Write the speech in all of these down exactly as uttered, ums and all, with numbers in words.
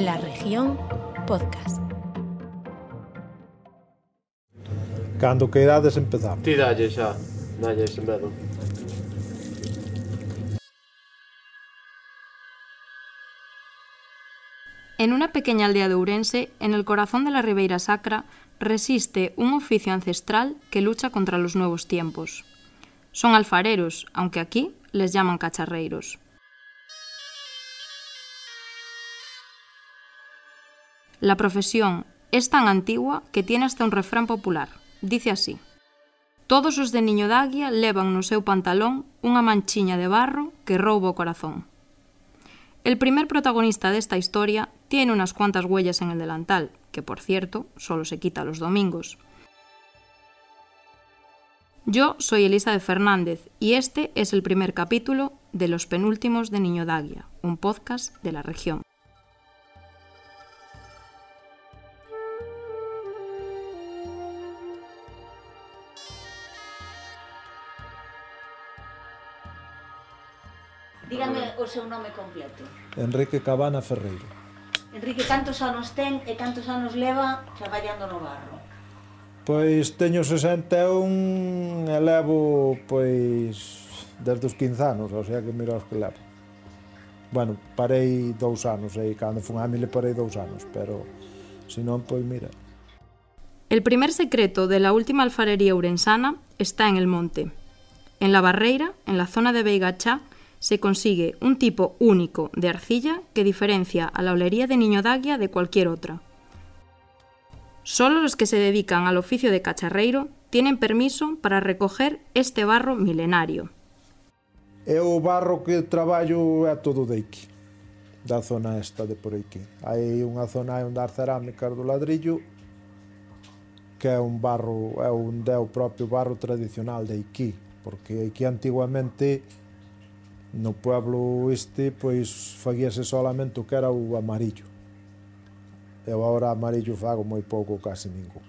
La Región Podcast. Cando queirades empezar. Ti dalle xa, dalle ese medo. En una pequeña aldea de Ourense, en el corazón de la Ribeira Sacra, resiste un oficio ancestral que lucha contra los nuevos tiempos. Son alfareros, aunque aquí les llaman cacharreiros. La profesión es tan antigua que tiene hasta un refrán popular. Dice así: todos os de Niño d'Águia levan no seu pantalón unha manchiña de barro que rouba o corazón. El primer protagonista de esta historia tiene unas cuantas huellas en el delantal, que por cierto, solo se quita los domingos. Yo soy Elisa de Fernández y este es el primer capítulo de Los Penúltimos de Niño d'Águia, un podcast de La Región. Dígame o seu nome completo. Enrique Cabana Ferreiro. Enrique, cantos anos ten e cantos anos leva traballando no barro? Pois teño sesenta e un e levo, pois, desde os quince anos, o sea que mira os que levo. Bueno, parei dous anos, e cando fun a mile parei dous anos, pero, se non, pois mira. El primer secreto de la última alfarería ourensana está en el monte. En la Barreira, en la zona de Beigachá, se consigue un tipo único de arcilla que diferencia a la olería de Niño d'Águia de cualquier otra. Solo los que se dedican al oficio de cacharreiro tienen permiso para recoger este barro milenario. E o barro que traballo é todo de aquí, da zona esta de por aquí. Hai unha zona onde as cerámicas do ladrillo, que é un barro, é un é o propio barro tradicional de aquí, porque aquí antiguamente no pueblo este, pois, faguíase solamente o que era o amarillo. Eu agora amarillo fago moi pouco, casi ningún.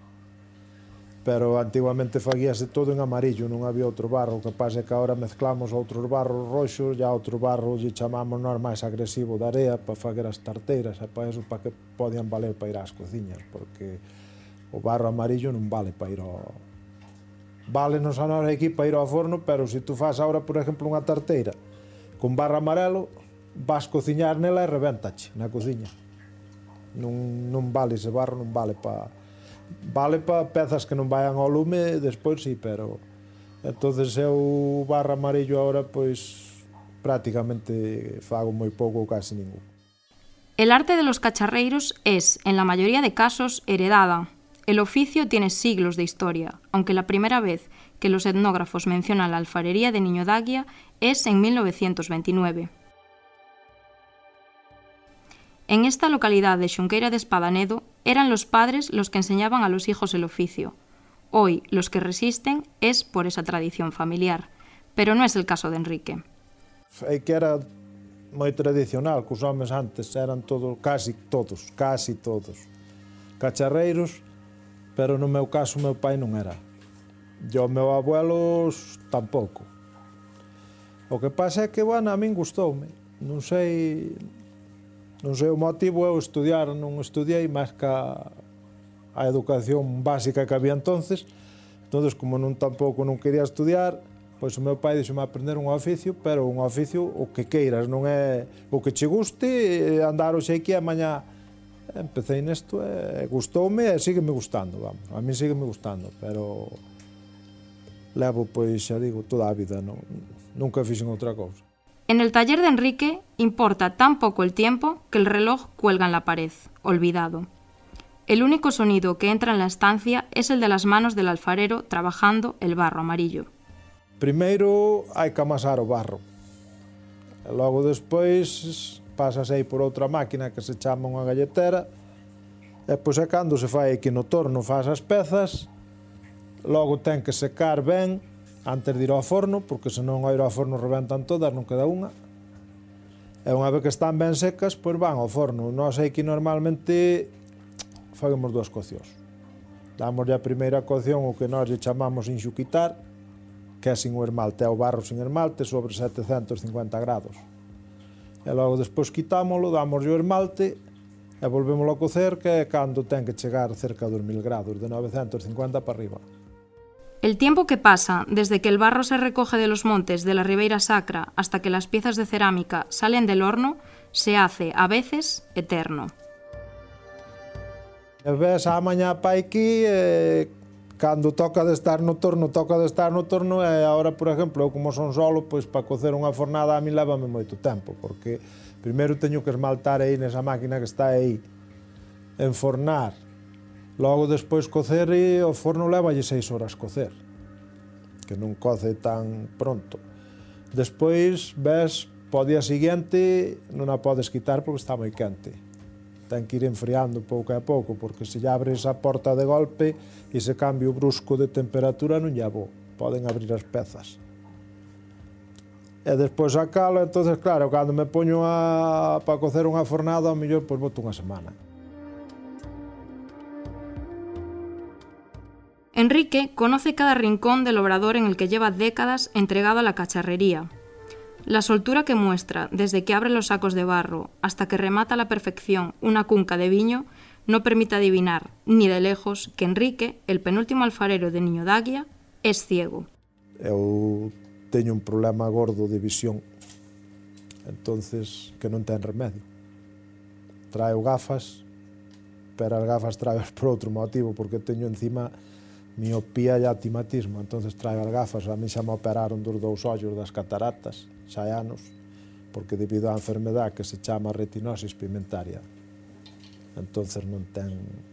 Pero antiguamente faguíase todo en amarillo, non había outro barro. O que pasa é que agora mezclamos outros barros roxos, e outro barro lle chamamos nós máis agresivo de area para fager as tarteiras, e para eso para que podían valer para ir ás cociñas, porque o barro amarillo non vale para ir ao... Válenos a nós aquí para ir ao forno, pero se tú faz agora, por exemplo, unha tarteira con barro amarelo, vas cociñar nela e revéntache na cociña. Non, non vale ese barro, non vale para... Vale para pezas que non vayan ao lume, despois sí, pero... Entonces eu barro amarillo agora, pois, prácticamente fago moi pouco ou casi ningún. El arte de los cacharreiros es, en la mayoría de casos, heredada. El oficio tiene siglos de historia, aunque la primera vez que los etnógrafos mencionan la alfarería de Niño d'Águia es en mil novecientos veintinueve. En esta localidad de Xunqueira de Espadanedo eran los padres los que enseñaban a los hijos el oficio. Hoy los que resisten es por esa tradición familiar, pero no es el caso de Enrique. É que era moi tradicional, que os homes antes eran todos, casi todos, casi todos, cacharreiros, pero no meu caso, meu pai non era. E o meu abuelo tampouco. O que pasa é que, bueno, a min gustoume. Non sei, non sei o motivo, eu estudiar, non estudiei máis que a, a educación básica que había entonces. Entonces, como non tampouco non quería estudiar, pois o meu pai dixome aprender un oficio, pero un oficio o que queiras, non é o que che guste, andar hoxe aquí e mañá. Empecé nesto e gustoume e sígueme gustando, vamos. A mí sígueme gustando, pero levo, pois, xa digo, toda a vida, non, nunca fixen outra cousa. En el taller de Enrique importa tan poco el tiempo que el reloj cuelga en la pared, olvidado. El único sonido que entra en la estancia es el de las manos del alfarero trabajando el barro amarillo. Primeiro hai que amasar o barro. E logo despois pasas aí por outra máquina que se chama unha galletera, e pois é cando se fai aquí no torno, faz as pezas, logo ten que secar ben antes de ir ao forno, porque senón ao ir ao forno rebentan todas, non queda unha. E unha vez que están ben secas, pois van ao forno. Nós aquí normalmente fagemos dúas coccións. Damos a primeira cocción o que nós lle chamamos enxuquitar, que é sin o esmalte, é o barro sin esmalte sobre setecentos e cincuenta grados. E logo despois quitámoslo, damos o esmalte e volvémoslo a cocer, que é cando ten que chegar cerca dos mil grados, de novecentos cincuenta para arriba. El tiempo que pasa desde que el barro se recoge de los montes de la Ribeira Sacra hasta que las piezas de cerámica salen del horno se hace, a veces, eterno. E ves a mañá pa aquí, e cando toca de estar no torno, toca de estar no torno, e agora, por exemplo, eu como son solo, pois para cocer unha fornada a mí lévame moito tempo, porque primeiro teño que esmaltar aí nesa máquina que está aí, enfornar, logo despois cocer, e o forno levalle seis horas cocer, que non coce tan pronto. Despois, ves, po día seguinte non a podes quitar porque está moi quente. Ten que ir enfriando pouco a pouco, porque se lle abres a porta de golpe, ese cambio brusco de temperatura non lle bo, poden abrir as pezas. E despois sacalo, entonces claro, cando me poño a, para cocer unha fornada, ao mellor, pois boto unha semana. Enrique conoce cada rincón del obrador en el que lleva décadas entregado a la cacharrería. La soltura que muestra desde que abre los sacos de barro hasta que remata a la perfección una cunca de viño no permite adivinar, ni de lejos, que Enrique, el penúltimo alfarero de Niño d'Águia, es ciego. Eu teño un problema gordo de visión, entonces que non ten remedio. Traio gafas, pero as gafas traio por outro motivo, porque teño encima miopía e astigmatismo, entonces traio as gafas. A mí xa me operaron dos dous ollos das cataratas, xa hai anos, porque debido á enfermedad que se chama retinosis pigmentaria, entonces non ten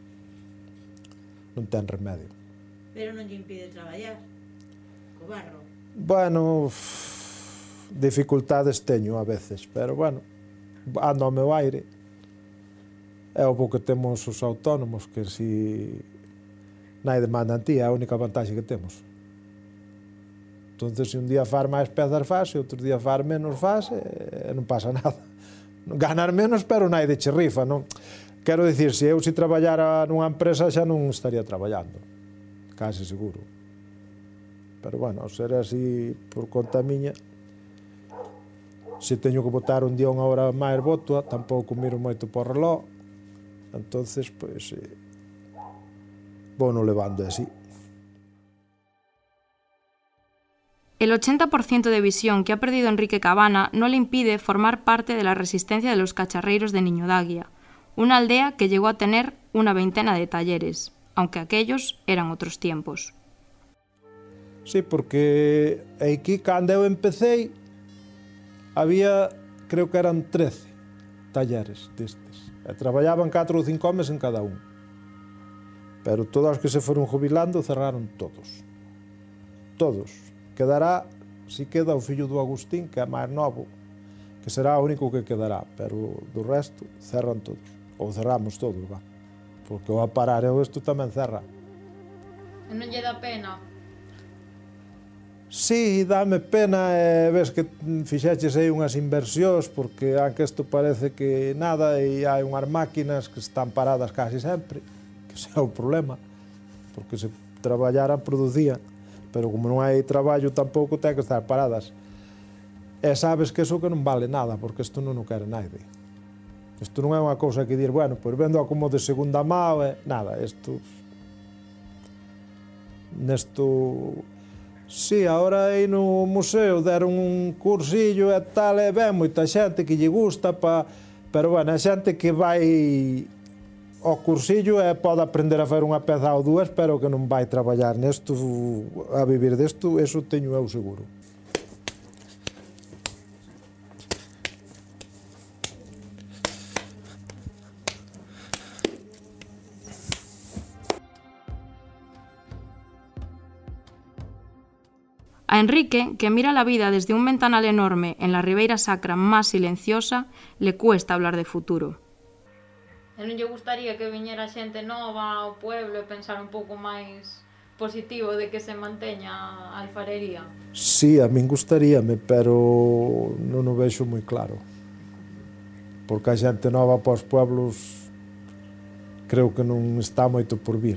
non ten remedio. Pero non lle impide traballar co barro. Bueno, dificultades teño a veces, pero bueno, ando ao meu aire. É o que temos os autónomos, que si nai demanda en ti, é a única vantaxe que temos. Entonces, se un día far máis pezas faz, e outro día far menos faz, e non pasa nada. Ganar menos, pero nai de chirrifa, non? Quero dicir, se eu se traballara nunha empresa xa non estaría traballando, case seguro. Pero, bueno, ao ser así por conta miña, se teño que botar un día unha hora máis boto, tampouco miro moito por reloj, entonces, pois, eh, vou non levando así. El ochenta por ciento de visión que ha perdido Enrique Cabana no le impide formar parte de la resistencia de los cacharreiros de Niño d'Águia, una aldea que llegó a tener una veintena de talleres, aunque aquellos eran otros tiempos. Sí, porque aquí, cando eu empecé, había, creo que eran trece talleres destes. E traballaban catro ou cinco homes en cada un. Pero todos os que se foron jubilando cerraron todos. Todos. Quedará, si queda, o fillo do Agustín, que é máis novo, que será o único que quedará, pero do resto cerran todos. Ou cerramos todos, va. Porque o a parar eu isto tamén cerra. E non lle dá pena? Sí, dame pena, e ves que fixeches aí unhas inversións, porque aunque isto parece que nada, e hai unhas máquinas que están paradas casi sempre, que ese é o problema, porque se traballaran producían, pero como non hai traballo tampouco ten que estar paradas. E sabes que iso que non vale nada, porque isto non o quere naide. Isto non é unha cousa que dir, bueno, pois vendo como de segunda mão, e nada, isto... Nesto... Sí, agora aí no museo deron un cursillo e tal, e ben moita xente que lle gusta, pa... pero, bueno, a xente que vai ao cursillo e pode aprender a facer unha peza ou dúas, pero que non vai traballar nesto, a vivir desto, eso teño eu seguro. A Enrique, que mira la vida desde un ventanal enorme en la Ribeira Sacra más silenciosa, le cuesta hablar de futuro. E non lle gustaría que viñera xente nova ao pueblo e pensar un pouco máis positivo de que se manteña a alfarería? Sí, a min gustaríame, pero non o vexo moi claro. Porque a xente nova para os pueblos creo que non está moito por vir.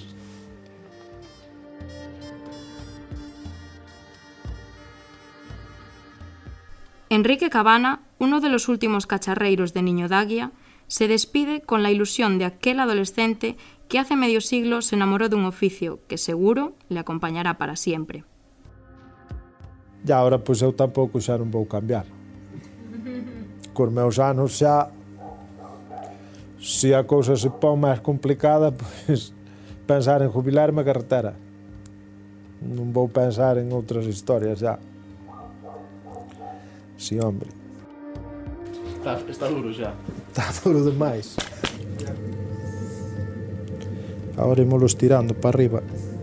Enrique Cabana, uno de los últimos cacharreiros de Niño d'Águia, se despide con la ilusión de aquel adolescente que hace medio siglo se enamoró de un oficio que seguro le acompañará para siempre. E agora, pois, eu tampouco xa non vou cambiar. Cos meus anos xa, se a cousa se pon máis complicada, pois, pensar en jubilarme a carretera. Non vou pensar en outras historias xa. Si, hombre. Está, está duro xa. Está duro demais. Agora ímolo estirando para arriba.